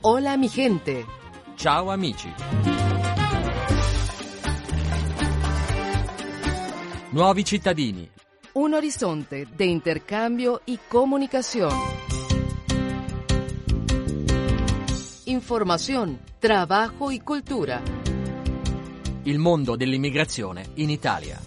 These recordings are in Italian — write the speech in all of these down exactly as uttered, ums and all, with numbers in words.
Hola mi gente. Ciao amici. Nuovi cittadini. Un horizonte de intercambio y comunicación. Información, trabajo y cultura. Il mondo dell'immigrazione in Italia.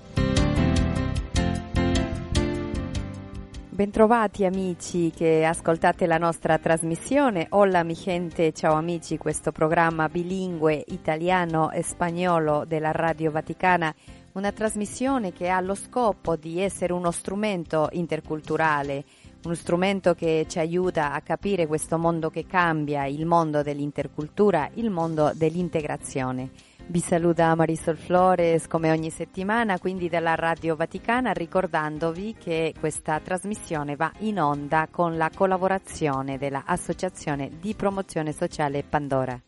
Bentrovati amici che ascoltate la nostra trasmissione. Hola mi gente, ciao amici, questo programma bilingue italiano e spagnolo della Radio Vaticana, una trasmissione che ha lo scopo di essere uno strumento interculturale, uno strumento che ci aiuta a capire questo mondo che cambia, il mondo dell'intercultura, il mondo dell'integrazione. Vi saluta Marisol Flores come ogni settimana, quindi dalla Radio Vaticana, ricordandovi che questa trasmissione va in onda con la collaborazione della Associazione di Promozione Sociale Pandora.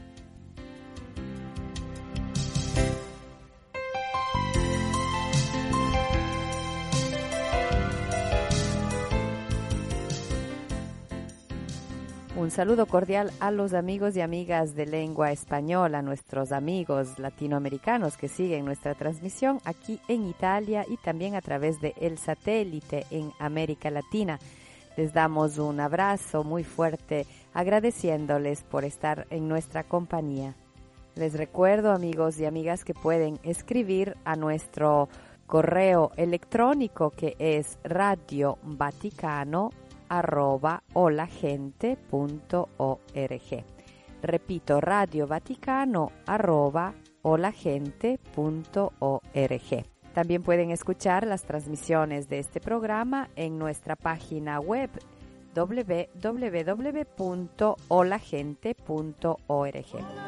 Un saludo cordial a los amigos y amigas de lengua española, nuestros amigos latinoamericanos que siguen nuestra transmisión aquí en Italia y también a través de el satélite en América Latina. Les damos un abrazo muy fuerte agradeciéndoles por estar en nuestra compañía. Les recuerdo, amigos y amigas, que pueden escribir a nuestro correo electrónico que es radiovaticano arroba olagente punto org. Repito, radiovaticano arroba olagente punto org. También pueden escuchar las transmisiones de este programa en nuestra página web doble u doble u doble u punto olagente punto org.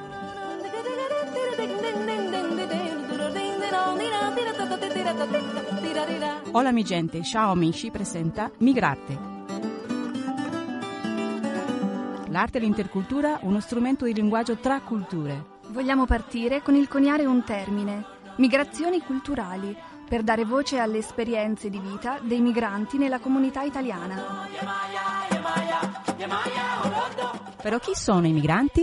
Hola mi gente, ciao amici, presenta Migrarte. L'arte e l'intercultura, uno strumento di linguaggio tra culture. Vogliamo partire con il coniare un termine, migrazioni culturali, per dare voce alle esperienze di vita dei migranti nella comunità italiana. Però chi sono i migranti?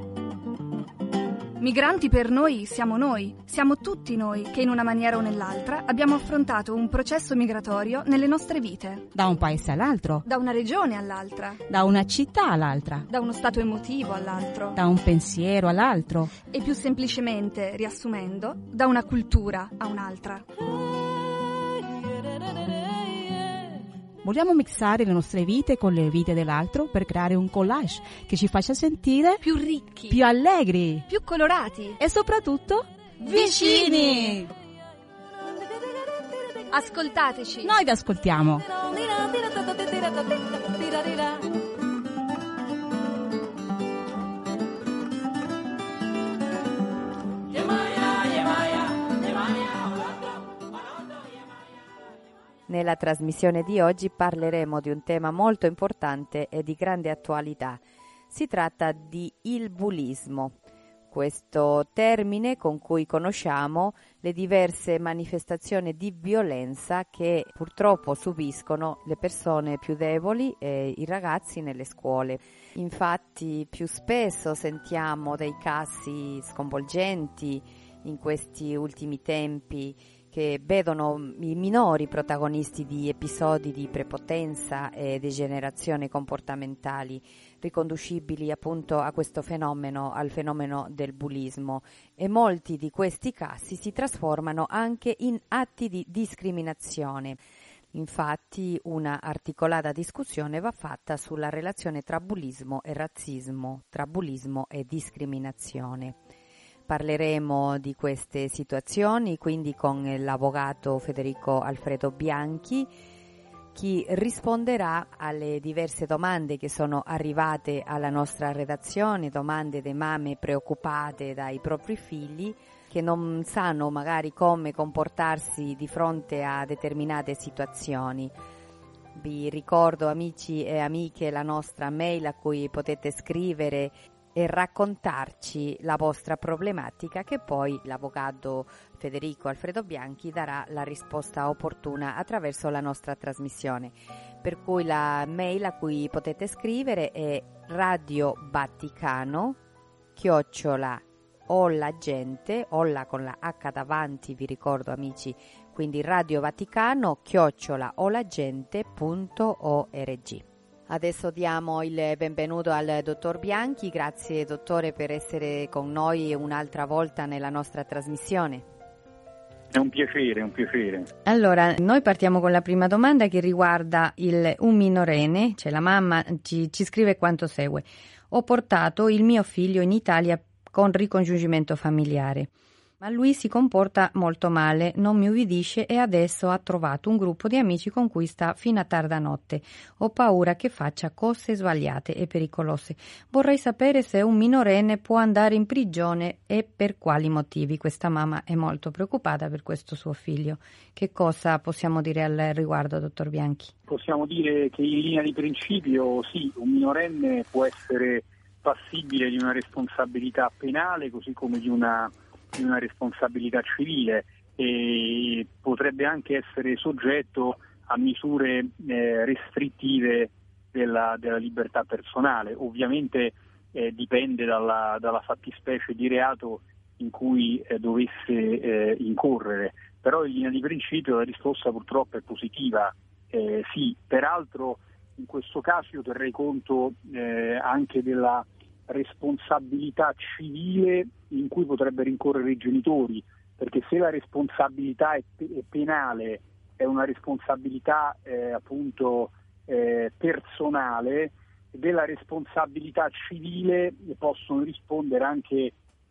Migranti per noi siamo noi, siamo tutti noi che in una maniera o nell'altra abbiamo affrontato un processo migratorio nelle nostre vite. Da un paese all'altro. Da una regione all'altra. Da una città all'altra. Da uno stato emotivo all'altro. Da un pensiero all'altro. E più semplicemente, riassumendo, da una cultura a un'altra. Vogliamo mixare le nostre vite con le vite dell'altro per creare un collage che ci faccia sentire più ricchi, più allegri, più colorati e soprattutto vicini. Ascoltateci. Noi vi ascoltiamo. Nella trasmissione di oggi parleremo di un tema molto importante e di grande attualità. Si tratta di il bullismo, questo termine con cui conosciamo le diverse manifestazioni di violenza che purtroppo subiscono le persone più deboli e i ragazzi nelle scuole. Infatti più spesso sentiamo dei casi sconvolgenti in questi ultimi tempi che vedono i minori protagonisti di episodi di prepotenza e degenerazione comportamentali riconducibili appunto a questo fenomeno, al fenomeno del bullismo, e molti di questi casi si trasformano anche in atti di discriminazione. Infatti una articolata discussione va fatta sulla relazione tra bullismo e razzismo, tra bullismo e discriminazione. Parleremo di queste situazioni quindi con l'avvocato Federico Alfredo Bianchi, chi risponderà alle diverse domande che sono arrivate alla nostra redazione, domande di mamme preoccupate dai propri figli che non sanno magari come comportarsi di fronte a determinate situazioni. Vi ricordo, amici e amiche, la nostra mail a cui potete scrivere e raccontarci la vostra problematica, che poi l'avvocato Federico Alfredo Bianchi darà la risposta opportuna attraverso la nostra trasmissione. Per cui la mail a cui potete scrivere è radiovaticano chiocciola olla gente, olla con la H davanti, vi ricordo amici, quindi radiovaticano chiocciola ollagente punto org. Adesso diamo il benvenuto al dottor Bianchi. Grazie dottore per essere con noi un'altra volta nella nostra trasmissione. È un piacere, è un piacere. Allora, noi partiamo con la prima domanda che riguarda il, un minorenne, cioè la mamma ci, ci scrive quanto segue. Ho portato il mio figlio in Italia con ricongiungimento familiare, ma lui si comporta molto male, non mi ubbidisce e adesso ha trovato un gruppo di amici con cui sta fino a tarda notte. Ho paura che faccia cose sbagliate e pericolose. Vorrei sapere se un minorenne può andare in prigione e per quali motivi. Questa mamma è molto preoccupata per questo suo figlio. Che cosa possiamo dire al riguardo, dottor Bianchi? Possiamo dire che in linea di principio sì, un minorenne può essere passibile di una responsabilità penale così come di una di una responsabilità civile e potrebbe anche essere soggetto a misure eh, restrittive della, della libertà personale. Ovviamente eh, dipende dalla, dalla fattispecie di reato in cui eh, dovesse eh, incorrere, però in linea di principio la risposta purtroppo è positiva. Eh, sì, peraltro in questo caso io terrei conto eh, anche della responsabilità civile in cui potrebbero incorrere i genitori, perché se la responsabilità è, pe- è penale, è una responsabilità eh, appunto eh, personale, della responsabilità civile possono rispondere anche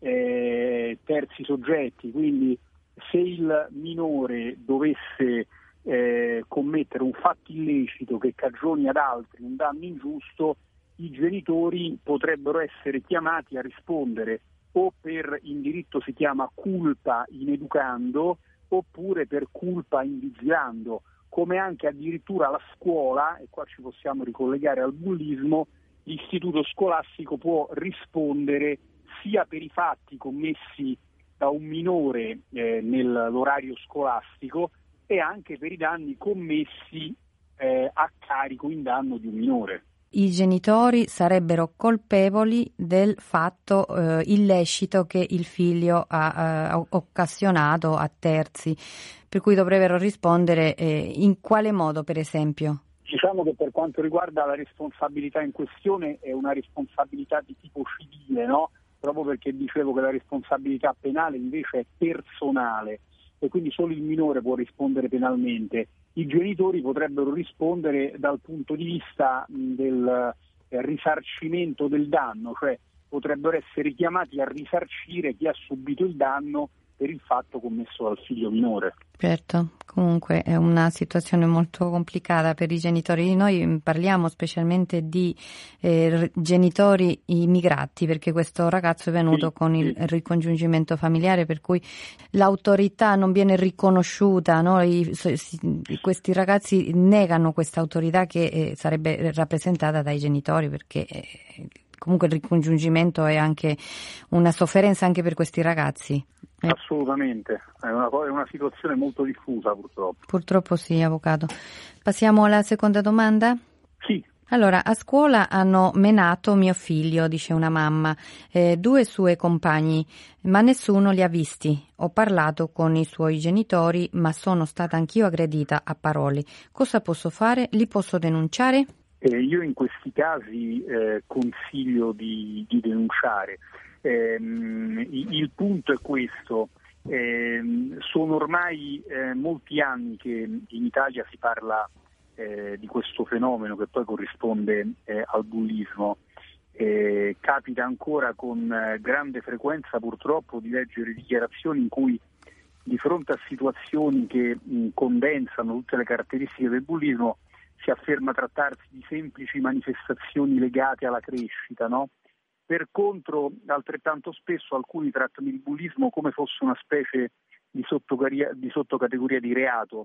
eh, terzi soggetti, quindi se il minore dovesse eh, commettere un fatto illecito che cagioni ad altri un danno ingiusto, i genitori potrebbero essere chiamati a rispondere o per, in diritto si chiama culpa in educando, oppure per culpa in vigilando, come anche addirittura la scuola, e qua ci possiamo ricollegare al bullismo, l'istituto scolastico può rispondere sia per i fatti commessi da un minore eh, nell'orario scolastico e anche per i danni commessi eh, a carico in danno di un minore. I genitori sarebbero colpevoli del fatto eh, illecito che il figlio ha eh, occasionato a terzi, per cui dovrebbero rispondere eh, in quale modo, per esempio? Diciamo che per quanto riguarda la responsabilità in questione è una responsabilità di tipo civile, no? Proprio perché dicevo che la responsabilità penale invece è personale e quindi solo il minore può rispondere penalmente. I genitori potrebbero rispondere dal punto di vista del risarcimento del danno, cioè potrebbero essere chiamati a risarcire chi ha subito il danno per il fatto commesso dal figlio minore. Certo, comunque è una situazione molto complicata per i genitori. Noi parliamo specialmente di eh, genitori immigrati, perché questo ragazzo è venuto sì, con sì. il ricongiungimento familiare, per cui l'autorità non viene riconosciuta, no? I, si, questi ragazzi negano questa autorità che eh, sarebbe rappresentata dai genitori, perché eh, comunque il ricongiungimento è anche una sofferenza anche per questi ragazzi. Assolutamente, è una, è una situazione molto diffusa purtroppo. Purtroppo sì, avvocato. Passiamo alla seconda domanda? Sì. Allora, a scuola hanno menato mio figlio, dice una mamma, eh, due suoi compagni, ma nessuno li ha visti. Ho parlato con i suoi genitori, ma sono stata anch'io aggredita a parole. Cosa posso fare? Li posso denunciare? Eh, io in questi casi eh, consiglio di, di denunciare. Eh, il punto è questo, eh, sono ormai eh, molti anni che in Italia si parla eh, di questo fenomeno che poi corrisponde eh, al bullismo. Eh, capita ancora con eh, grande frequenza purtroppo di leggere dichiarazioni in cui di fronte a situazioni che mh, condensano tutte le caratteristiche del bullismo si afferma trattarsi di semplici manifestazioni legate alla crescita, no? Per contro, altrettanto spesso alcuni trattano il bullismo come fosse una specie di, di sottocategoria di reato,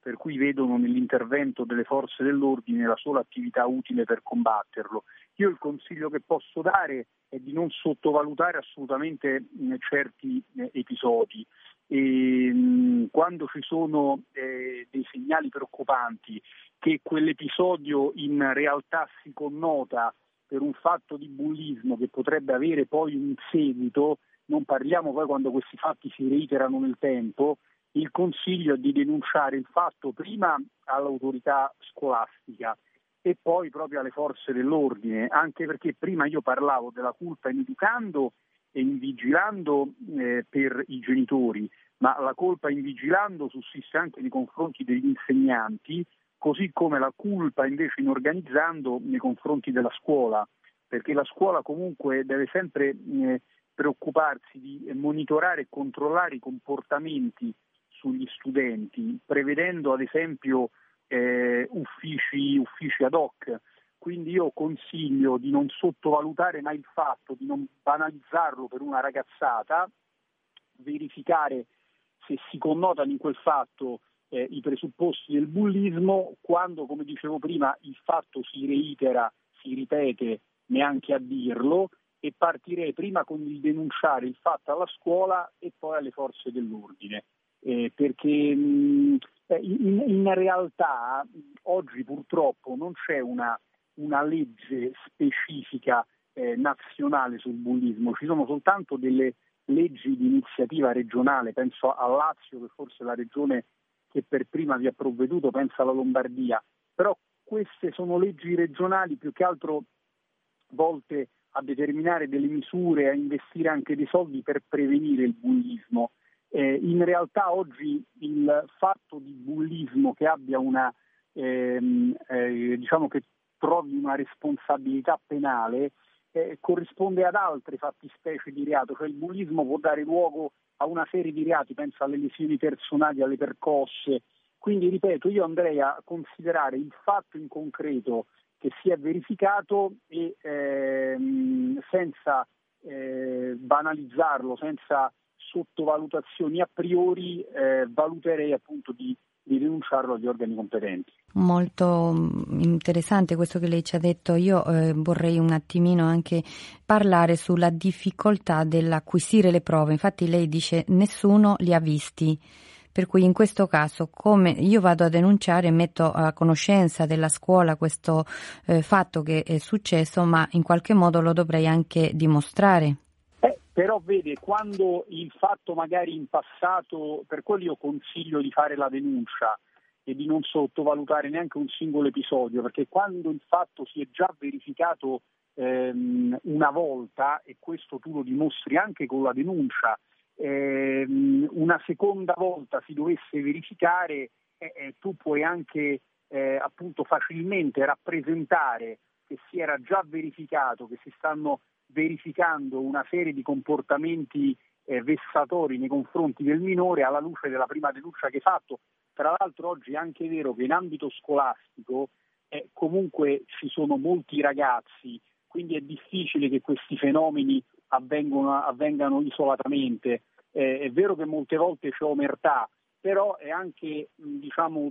per cui vedono nell'intervento delle forze dell'ordine la sola attività utile per combatterlo. Io il consiglio che posso dare è di non sottovalutare assolutamente mh, certi eh, episodi. E, mh, quando ci sono eh, dei segnali preoccupanti che quell'episodio in realtà si connota per un fatto di bullismo che potrebbe avere poi un seguito, non parliamo poi quando questi fatti si reiterano nel tempo, il consiglio è di denunciare il fatto prima all'autorità scolastica e poi proprio alle forze dell'ordine, anche perché prima io parlavo della colpa in educando e in vigilando eh, per i genitori, ma la colpa in vigilando sussiste anche nei confronti degli insegnanti, così come la colpa invece in organizzando nei confronti della scuola, perché la scuola comunque deve sempre eh, preoccuparsi di monitorare e controllare i comportamenti sugli studenti, prevedendo ad esempio eh, uffici, uffici ad hoc. Quindi io consiglio di non sottovalutare mai il fatto, di non banalizzarlo per una ragazzata, verificare se si connotano in quel fatto eh, i presupposti del bullismo, quando, come dicevo prima, il fatto si reitera, si ripete neanche a dirlo, e partirei prima con il denunciare il fatto alla scuola e poi alle forze dell'ordine. Eh, perché mh, in, in realtà oggi purtroppo non c'è una, una legge specifica eh, nazionale sul bullismo, ci sono soltanto delle leggi di iniziativa regionale, penso al Lazio, che forse è la regione che per prima vi ha provveduto, penso alla Lombardia, però queste sono leggi regionali più che altro volte a determinare delle misure, a investire anche dei soldi per prevenire il bullismo. Eh, in realtà oggi il fatto di bullismo che abbia una, ehm, eh, diciamo che trovi una responsabilità penale eh, corrisponde ad altre fattispecie di reato, cioè il bullismo può dare luogo a una serie di reati, penso alle lesioni personali, alle percosse. Quindi ripeto, io andrei a considerare il fatto in concreto che si è verificato e ehm, senza eh, banalizzarlo, senza sottovalutazioni a priori, eh, valuterei appunto di, di denunciarlo agli organi competenti. Molto interessante questo che lei ci ha detto. Io eh, vorrei un attimino anche parlare sulla difficoltà dell'acquisire le prove. Infatti lei dice nessuno li ha visti. Per cui in questo caso, come io vado a denunciare, metto a conoscenza della scuola questo eh, fatto che è successo, ma in qualche modo lo dovrei anche dimostrare. Eh, però vede, quando il fatto magari in passato, per quello io consiglio di fare la denuncia e di non sottovalutare neanche un singolo episodio, perché quando il fatto si è già verificato ehm, una volta, e questo tu lo dimostri anche con la denuncia, Eh, una seconda volta si dovesse verificare, eh, eh, tu puoi anche eh, appunto facilmente rappresentare che si era già verificato, che si stanno verificando una serie di comportamenti eh, vessatori nei confronti del minore alla luce della prima denuncia che hai fatto. Tra l'altro oggi è anche vero che in ambito scolastico eh, comunque ci sono molti ragazzi, quindi è difficile che questi fenomeni avvengono, avvengano isolatamente. Eh, è vero che molte volte c'è omertà, però è anche mh, diciamo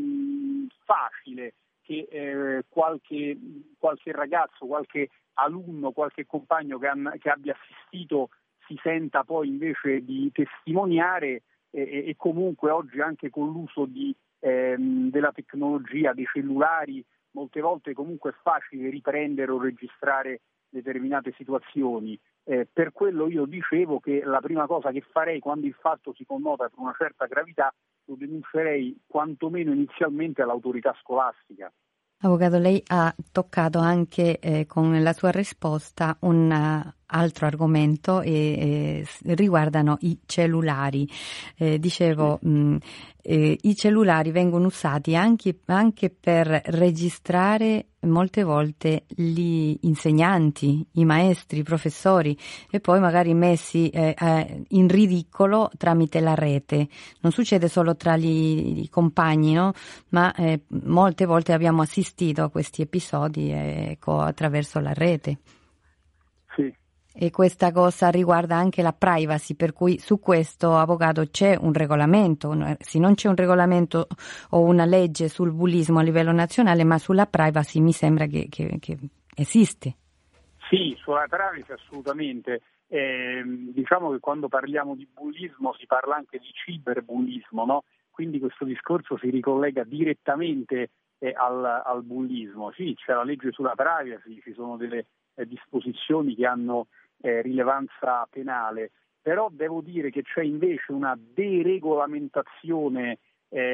mh, facile che eh, qualche, qualche ragazzo, qualche alunno, qualche compagno che, han, che abbia assistito si senta poi invece di testimoniare eh, e comunque oggi anche con l'uso di, ehm, della tecnologia, dei cellulari, molte volte comunque è facile riprendere o registrare determinate situazioni. Eh, per quello io dicevo che la prima cosa che farei quando il fatto si connota per una certa gravità lo denuncerei quantomeno inizialmente all'autorità scolastica. Avvocato, lei ha toccato anche eh, con la sua risposta un uh, altro argomento e eh, riguardano i cellulari. Eh, dicevo, sì. mh, eh, i cellulari vengono usati anche, anche per registrare molte volte gli insegnanti, i maestri, i professori e poi magari messi eh, eh, in ridicolo tramite la rete. Non succede solo tra gli, i compagni, no? Ma eh, molte volte abbiamo assistito a questi episodi eh, ecco, attraverso la rete. Sì, E questa cosa riguarda anche la privacy, per cui su questo, avvocato, c'è un regolamento, sì, non c'è un regolamento o una legge sul bullismo a livello nazionale, ma sulla privacy mi sembra che, che, che esiste. Sì, sulla privacy assolutamente. Eh, diciamo che quando parliamo di bullismo si parla anche di ciberbullismo, no? Quindi questo discorso si ricollega direttamente eh, al, al bullismo. Sì, c'è la legge sulla privacy, ci sono delle eh, disposizioni che hanno eh, rilevanza penale, però devo dire che c'è invece una deregolamentazione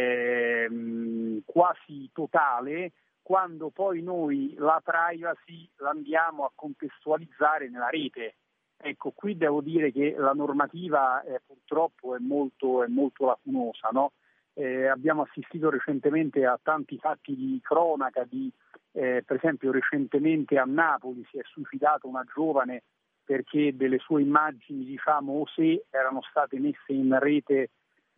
eh, quasi totale quando poi noi la privacy l'andiamo a contestualizzare nella rete. Ecco, qui devo dire che la normativa eh, purtroppo è molto, è molto lacunosa, no? Eh, abbiamo assistito recentemente a tanti fatti di cronaca, di, eh, per esempio recentemente a Napoli si è suicidata una giovane perché delle sue immagini, diciamo, osè, erano state messe in rete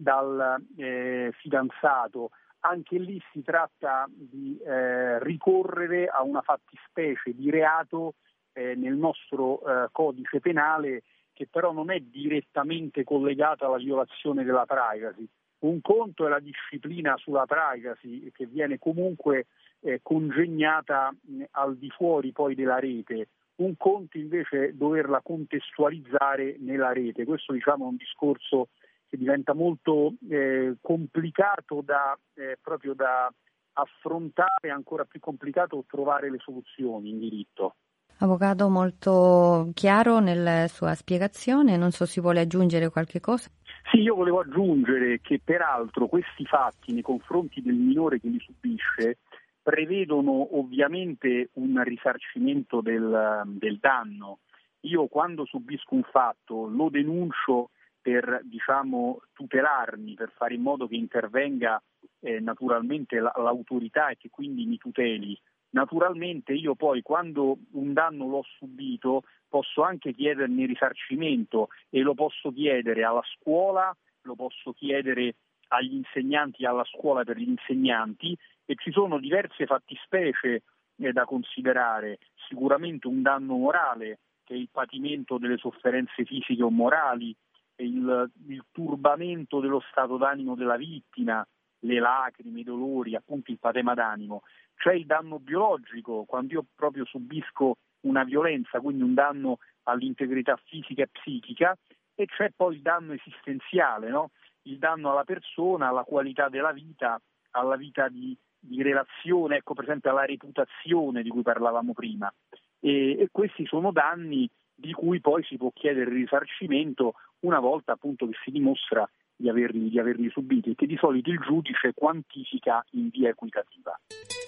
dal eh, fidanzato. Anche lì si tratta di eh, ricorrere a una fattispecie di reato eh, nel nostro eh, codice penale che però non è direttamente collegata alla violazione della privacy. Un conto è la disciplina sulla privacy che viene comunque eh, congegnata mh, al di fuori poi della rete, un conto invece è doverla contestualizzare nella rete. Questo, diciamo, è un discorso che diventa molto eh, complicato da eh, proprio da affrontare, ancora più complicato trovare le soluzioni in diritto. Avvocato, molto chiaro nella sua spiegazione, non so se vuole aggiungere qualche cosa. Sì, io volevo aggiungere che peraltro questi fatti nei confronti del minore che li subisce prevedono ovviamente un risarcimento del, del danno. Io quando subisco un fatto lo denuncio per, diciamo, tutelarmi, per fare in modo che intervenga eh, naturalmente la, l'autorità e che quindi mi tuteli. Naturalmente io poi quando un danno l'ho subito posso anche chiederne risarcimento e lo posso chiedere alla scuola, lo posso chiedere agli insegnanti, alla scuola per gli insegnanti, e ci sono diverse fattispecie eh, da considerare. Sicuramente un danno morale, che è il patimento delle sofferenze fisiche o morali, il, il turbamento dello stato d'animo della vittima, le lacrime, i dolori, appunto il patema d'animo. C'è il danno biologico, quando io proprio subisco una violenza, quindi un danno all'integrità fisica e psichica, e c'è poi il danno esistenziale, no? Il danno alla persona, alla qualità della vita, alla vita di, di relazione, ecco per esempio alla reputazione di cui parlavamo prima. E, e questi sono danni di cui poi si può chiedere il risarcimento una volta appunto che si dimostra di averli, di averli subiti, e che di solito il giudice quantifica in via equitativa.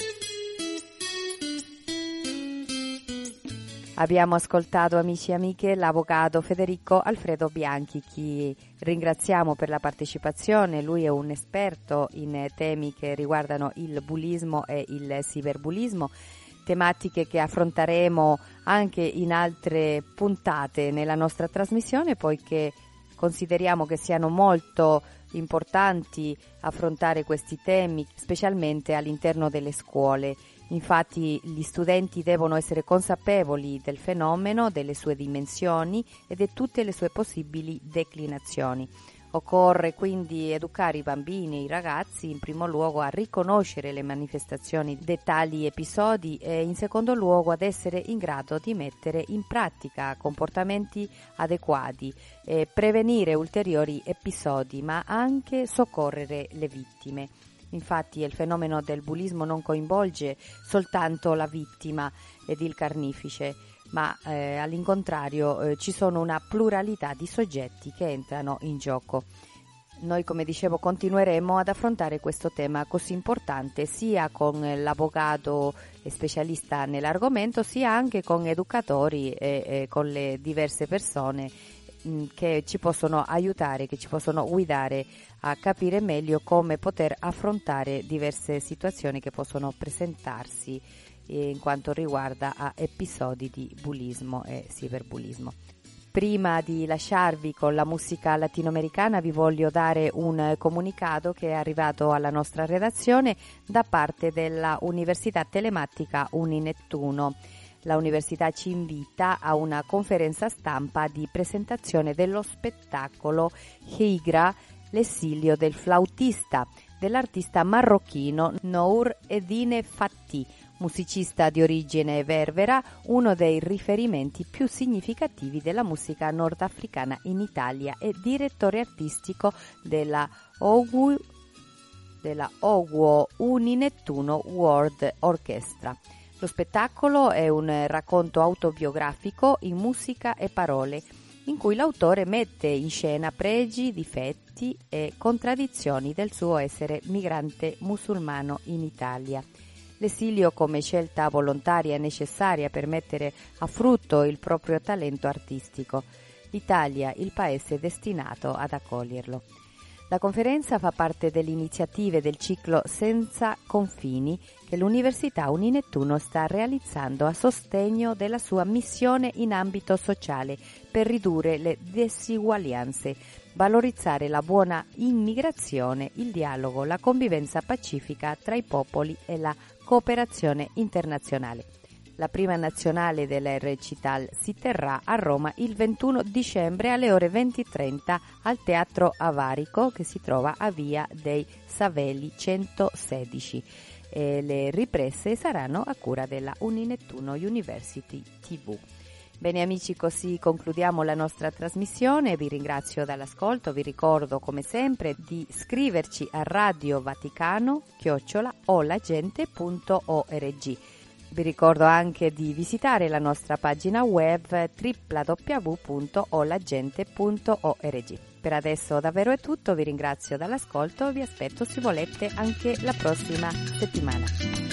Abbiamo ascoltato, amici e amiche, l'avvocato Federico Alfredo Bianchi, che ringraziamo per la partecipazione. Lui è un esperto in temi che riguardano il bullismo e il cyberbullismo, tematiche che affronteremo anche in altre puntate nella nostra trasmissione, poiché consideriamo che siano molto importanti affrontare questi temi, specialmente all'interno delle scuole. Infatti gli studenti devono essere consapevoli del fenomeno, delle sue dimensioni e di tutte le sue possibili declinazioni. Occorre quindi educare i bambini e i ragazzi in primo luogo a riconoscere le manifestazioni di tali episodi e in secondo luogo ad essere in grado di mettere in pratica comportamenti adeguati, e prevenire ulteriori episodi, ma anche soccorrere le vittime. Infatti il fenomeno del bullismo non coinvolge soltanto la vittima ed il carnefice, ma eh, all'incontrario eh, ci sono una pluralità di soggetti che entrano in gioco. Noi, come dicevo, continueremo ad affrontare questo tema così importante sia con l'avvocato specialista nell'argomento, sia anche con educatori e, e con le diverse persone che ci possono aiutare, che ci possono guidare a capire meglio come poter affrontare diverse situazioni che possono presentarsi in quanto riguarda a episodi di bullismo e cyberbullismo. Prima di lasciarvi con la musica latinoamericana vi voglio dare un comunicato che è arrivato alla nostra redazione da parte della Università Telematica Uninettuno. la Università ci invita a una conferenza stampa di presentazione dello spettacolo Higra, l'esilio del flautista, dell'artista marocchino Nour Edine Fati, musicista di origine berbera, uno dei riferimenti più significativi della musica nordafricana in Italia e direttore artistico della Ogu della Oguo Uninettuno World Orchestra. Lo spettacolo è un racconto autobiografico in musica e parole, in cui l'autore mette in scena pregi, difetti e contraddizioni del suo essere migrante musulmano in Italia. L'esilio come scelta volontaria e necessaria per mettere a frutto il proprio talento artistico. L'Italia, il paese destinato ad accoglierlo. La conferenza fa parte delle iniziative del ciclo Senza confini che l'Università Uninettuno sta realizzando a sostegno della sua missione in ambito sociale per ridurre le disuguaglianze, valorizzare la buona immigrazione, il dialogo, la convivenza pacifica tra i popoli e la cooperazione internazionale. La prima nazionale della Recital si terrà a Roma il ventuno dicembre alle ore venti e trenta al Teatro Avarico, che si trova a Via dei Savelli centosedici. E le riprese saranno a cura della Uninettuno University tivù. Bene amici, così concludiamo la nostra trasmissione, vi ringrazio dall'ascolto, vi ricordo come sempre di scriverci a Radio Vaticano chiocciola olagente punto org. Vi ricordo anche di visitare la nostra pagina web w w w punto olagente punto org. Per adesso davvero è tutto, vi ringrazio dall'ascolto e vi aspetto se volete anche la prossima settimana.